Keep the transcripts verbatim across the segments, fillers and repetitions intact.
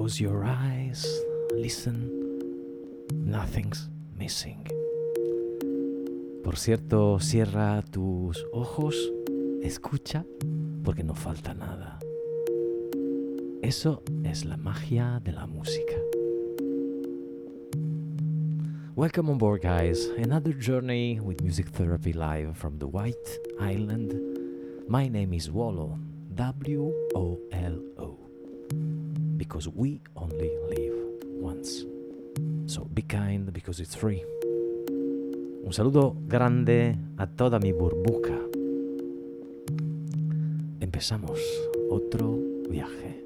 Close your eyes, listen, nothing's missing. Por cierto, cierra tus ojos, escucha, porque no falta nada. Eso es la magia de la música. Welcome on board, guys. Another journey with Music Therapy live from the White Island. My name is Wolo, W O L O, because we only live once. So be kind because it's free. Un saludo grande a toda mi burbuja. Empezamos otro viaje.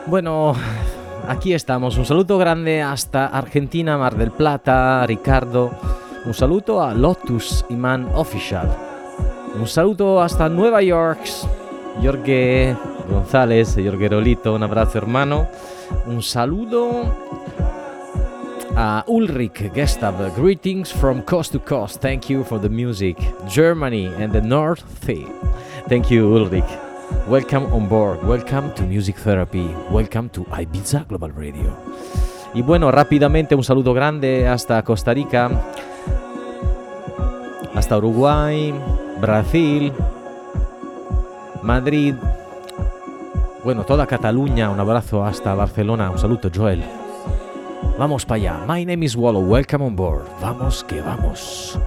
Bueno, aquí estamos. Un saluto grande hasta Argentina, Mar del Plata, Ricardo. Un saluto a Lotus Iman Official. Un saluto hasta Nueva York, Jorge González, Jorge Rolito. Un abrazo, hermano. Un saludo a Ulrich Gestab. Greetings from coast to coast. Thank you for the music. Germany and the North Sea. Thank you, Ulrich. Welcome on board, welcome to Music Therapy, welcome to Ibiza Global Radio. Y bueno, rápidamente un saludo grande hasta Costa Rica, hasta Uruguay, Brasil, Madrid, bueno, toda Cataluña, un abrazo hasta Barcelona, un saludo Joel. Vamos para allá, my name is Wallo, welcome on board, vamos que vamos.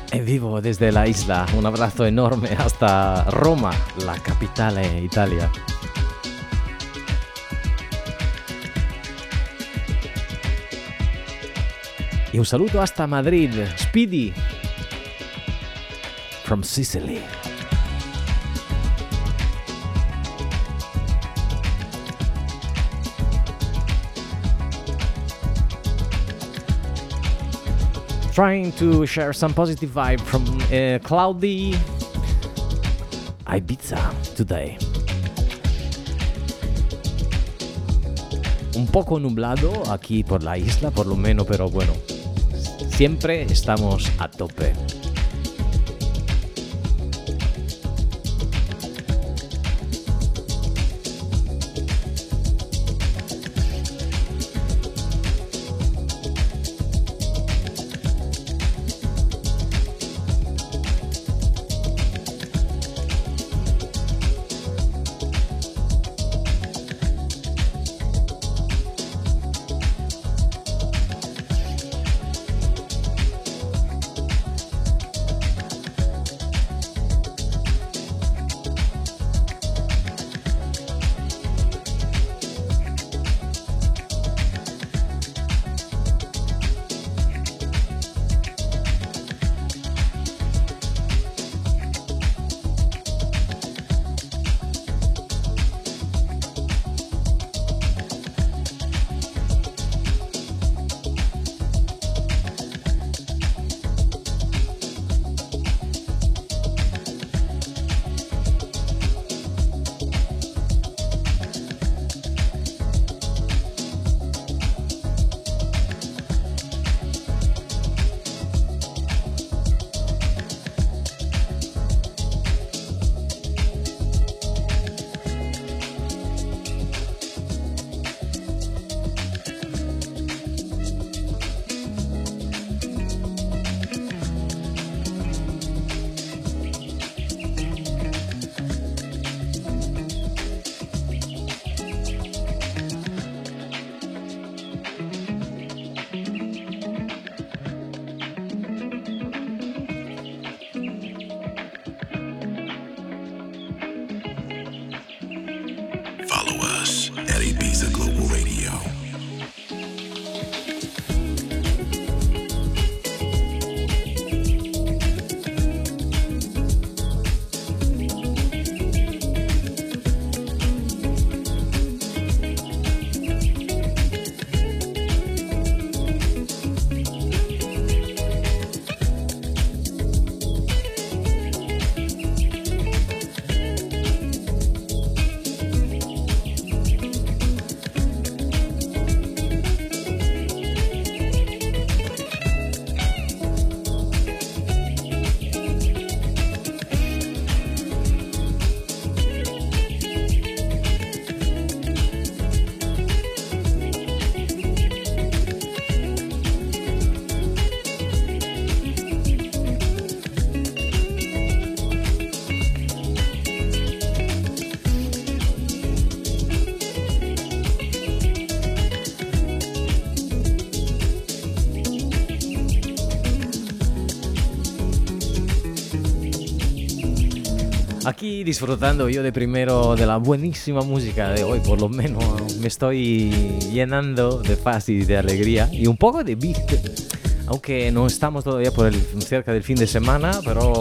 En vivo desde la isla, un abrazo enorme hasta Roma, la capitale Italia. Y un saludo hasta Madrid, Speedy, from Sicily. Trying to share some positive vibe from uh, cloudy Ibiza today. Un poco nublado aquí por la isla, por lo menos, pero bueno, siempre estamos a tope. Aquí disfrutando yo de primero de la buenísima música de hoy, por lo menos me estoy llenando de paz y de alegría y un poco de beat, aunque no estamos todavía por el, cerca del fin de semana, pero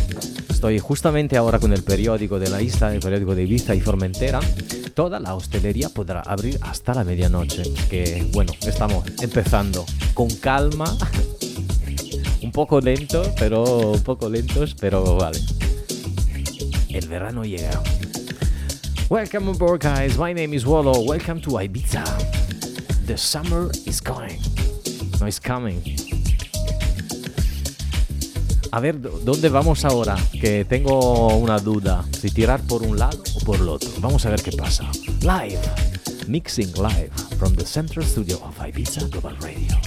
estoy justamente ahora con el periódico de la isla, el periódico de Ibiza y Formentera. Toda la hostelería podrá abrir hasta la medianoche, que bueno, estamos empezando con calma, un poco lento, pero un poco lentos, pero vale. El verano llega. Welcome aboard, guys. My name is Wallo. Welcome to Ibiza. The summer is coming. No, it's coming. A ver, ¿dónde vamos ahora? Que tengo una duda. Si tirar por un lado o por el otro. Vamos a ver qué pasa. Live. Mixing live from the Central Studio of Ibiza Global Radio.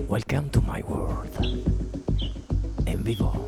Welcome to my world. En vivo.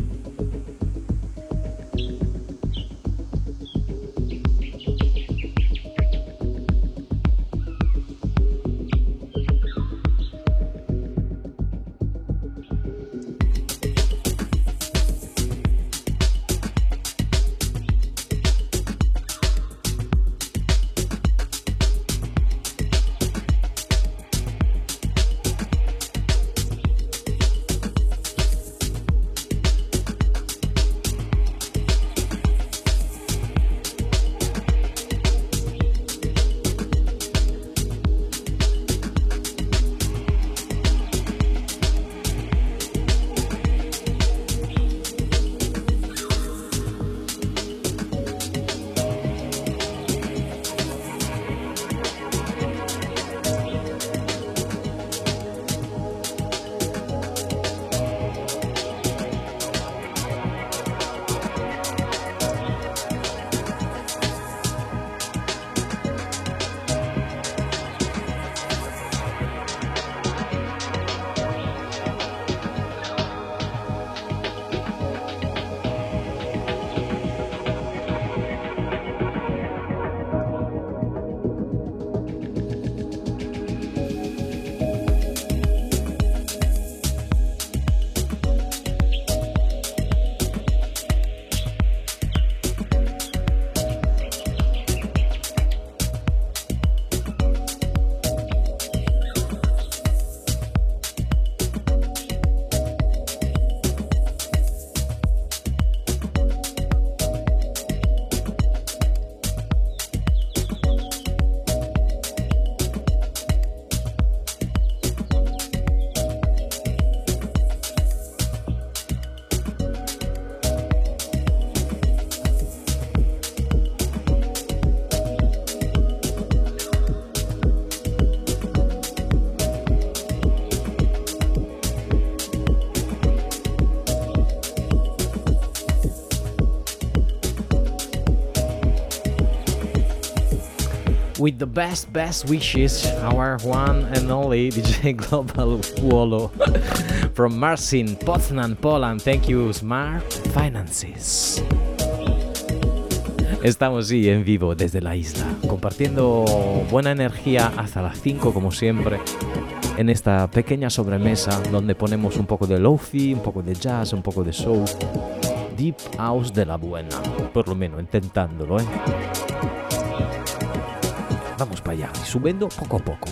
With the best, best wishes, our one and only D J Global Wolo from Marcin, Poznan, Poland. Thank you, Smart Finances. Estamos sí en vivo desde la isla, compartiendo buena energía hasta las cinco como siempre, en esta pequeña sobremesa donde ponemos un poco de lofi, un poco de jazz, un poco de soul, deep house de la buena, por lo menos intentándolo, ¿eh? Vamos para allá, subiendo poco a poco.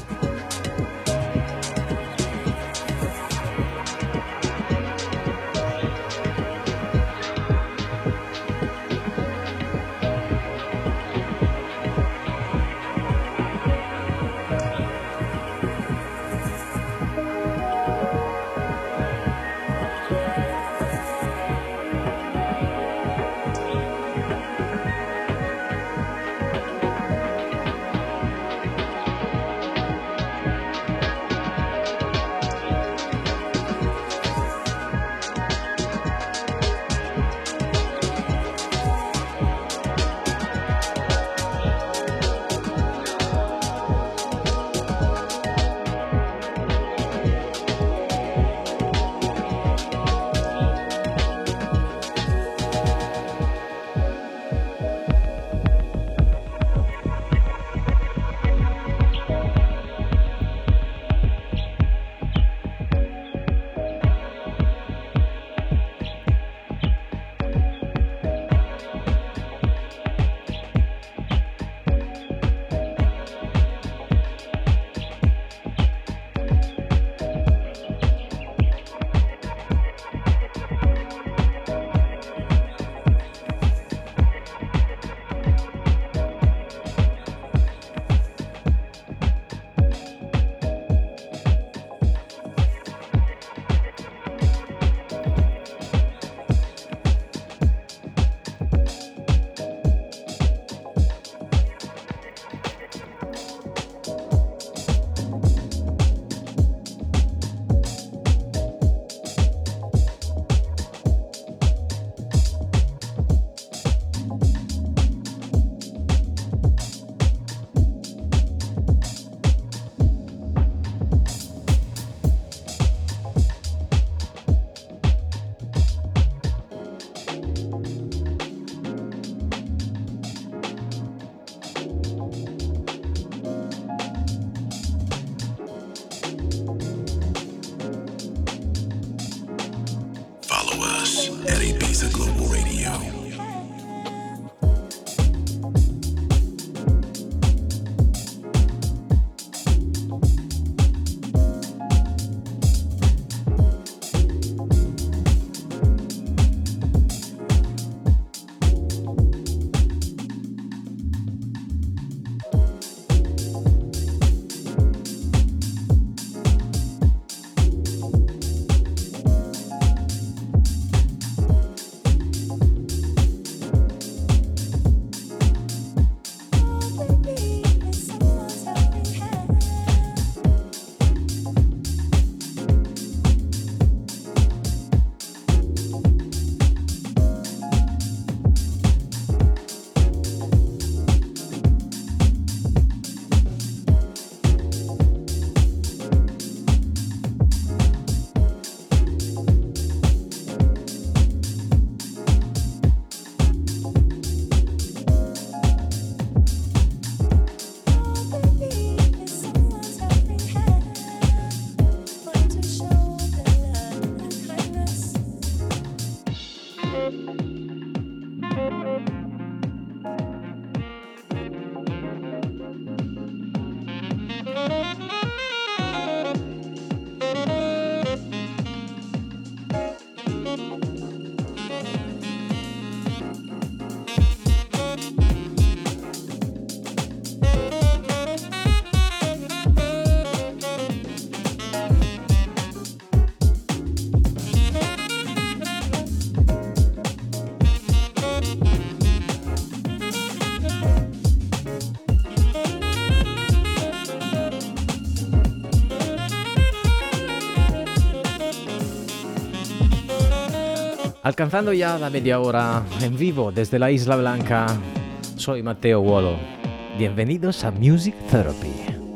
Alcanzando ya la media hora en vivo desde la Isla Blanca, soy Matteo Wolo. Bienvenidos a Music Therapy.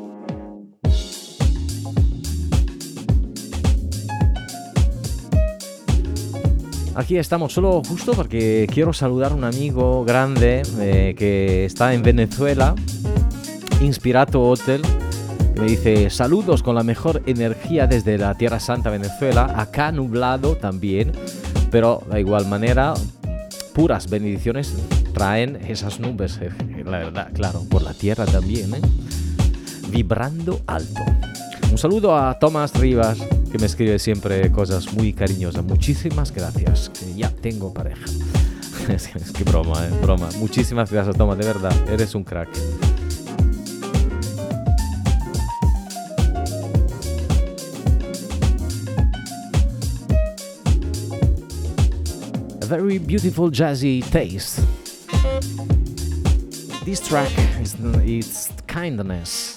Aquí estamos solo justo porque quiero saludar a un amigo grande eh, que está en Venezuela, Inspirato Hotel. Me dice, saludos con la mejor energía desde la Tierra Santa, Venezuela. Acá nublado también, pero de igual manera, puras bendiciones traen esas nubes, eh, la verdad, claro, por la tierra también, ¿eh? Vibrando alto. Un saludo a Tomás Rivas, que me escribe siempre cosas muy cariñosas. Muchísimas gracias, que ya tengo pareja. es, que, es que broma, eh, broma. Muchísimas gracias, Tomás, de verdad, eres un crack. A very beautiful jazzy taste. This track is it's Kindness.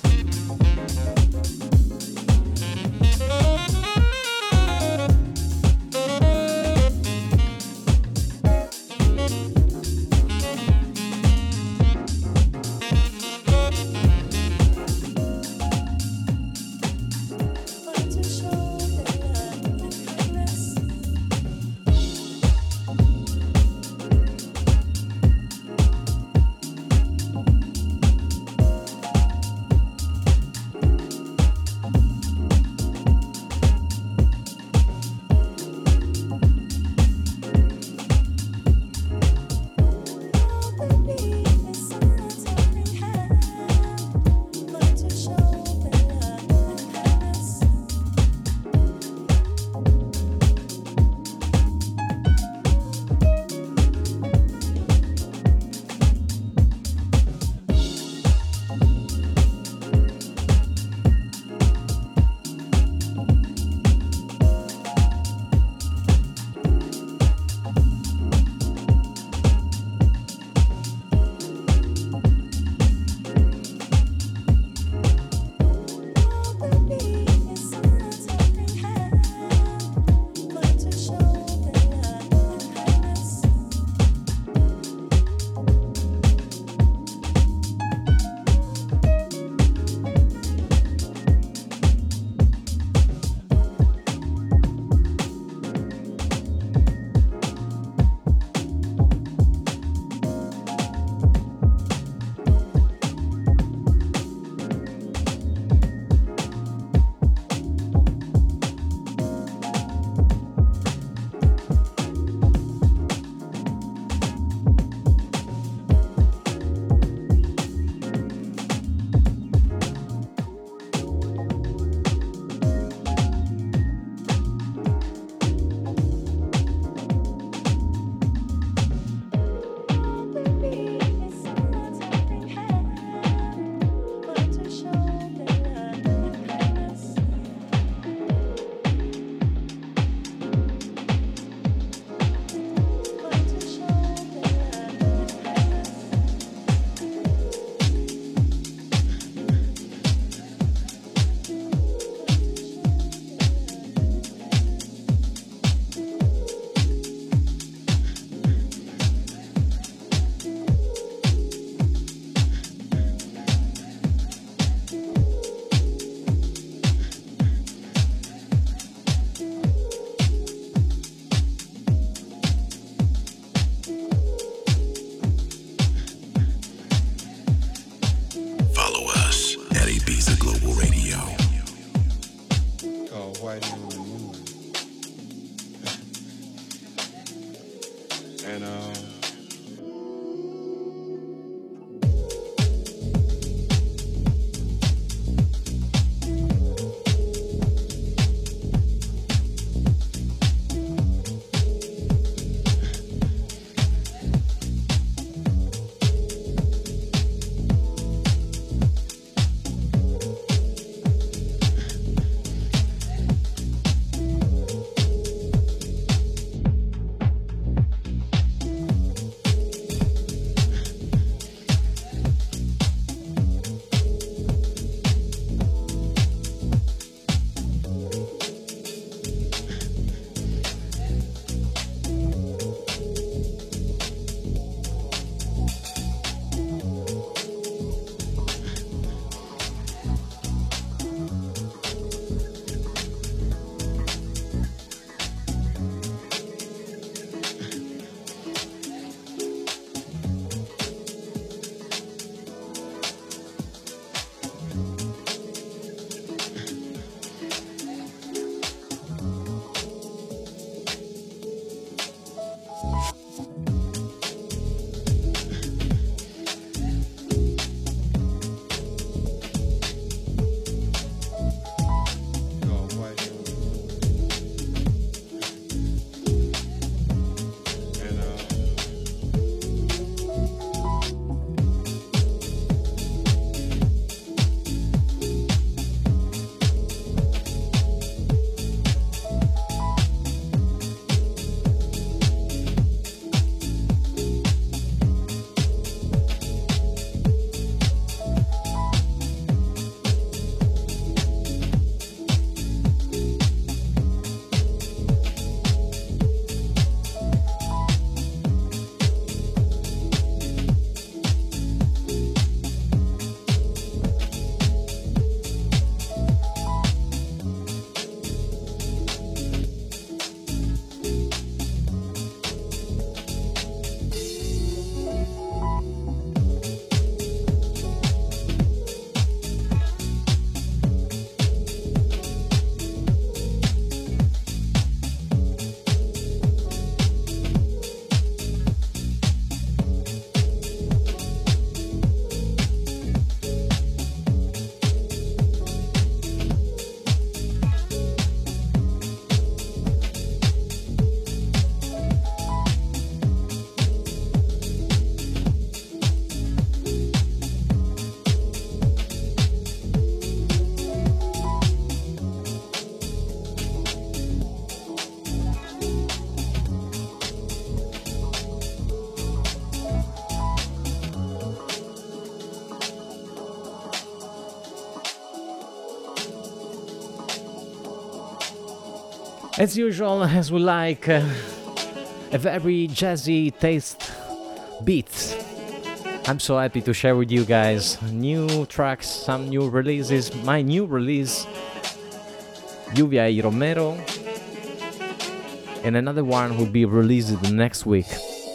As usual, as we like, uh, a very jazzy taste beats. I'm so happy to share with you guys new tracks, some new releases. My new release, Lluvia y Romero, and another one will be released the next week.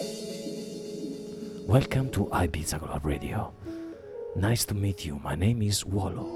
Welcome to Ibiza Club Radio. Nice to meet you. My name is Wallo.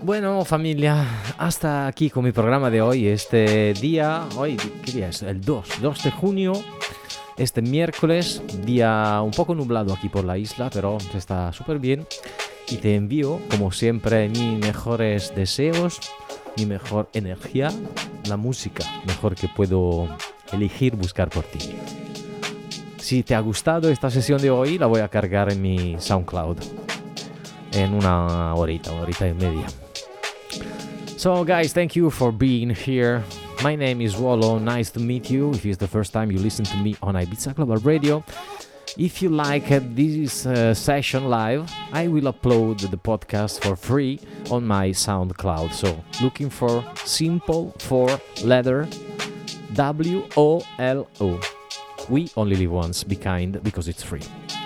Bueno, familia, hasta aquí con mi programa de hoy. Este día, hoy, ¿qué día es? El dos de junio. Este miércoles, día un poco nublado aquí por la isla, pero está súper bien. Y te envío, como siempre, mis mejores deseos, mi mejor energía, la música mejor que puedo elegir buscar por ti. Si te ha gustado esta sesión de hoy, la voy a cargar en mi SoundCloud en una horita, horita y media. So guys, thank you for being here. My name is Wolo, nice to meet you if it's the first time you listen to me on Ibiza Global Radio. If you like uh, this uh, session live, I will upload the podcast for free on my SoundCloud. So looking for Simple for Leather, W O L O. We only live once, be kind, because it's free.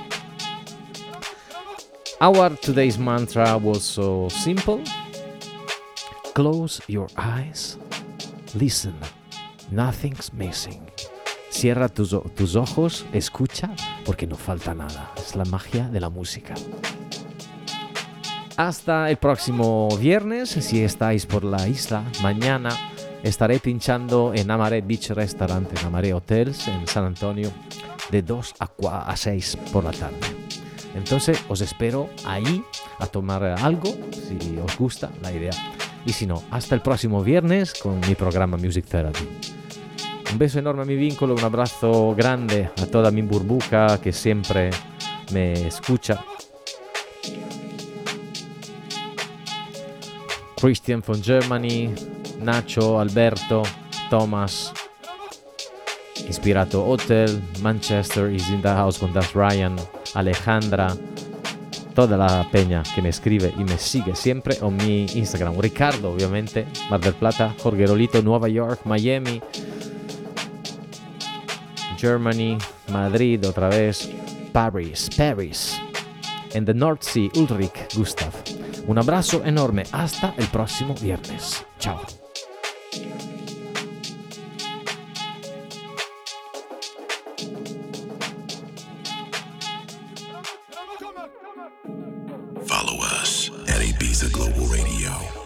Our today's mantra was so simple. Close your eyes. Listen. Nothing's missing. Cierra tus, tus ojos, escucha, porque no falta nada. Es la magia de la música. Hasta el próximo viernes, si estáis por la isla, mañana estaré pinchando en Amaré Beach Restaurant, en Amaré Hotels, en San Antonio, de dos a seis por la tarde. Entonces os espero ahí a tomar algo, si os gusta la idea. Y si no, hasta el próximo viernes con mi programa Music Therapy. Un beso enorme a mi vínculo, un abrazo grande a toda mi burbuja que siempre me escucha. Christian from Germany, Nacho, Alberto, Thomas, Inspirato Hotel, Manchester is in the house con Das Ryan, Alejandra, toda la peña que me escribe y me sigue siempre en mi Instagram. Ricardo, obviamente, Mar del Plata, Jorge Rolito, Nueva York, Miami, Germany, Madrid otra vez, Paris, Paris, en the North Sea, Ulrich Gustav. Un abrazo enorme, hasta el próximo viernes. Chao. Follow us at Ibiza Global Radio.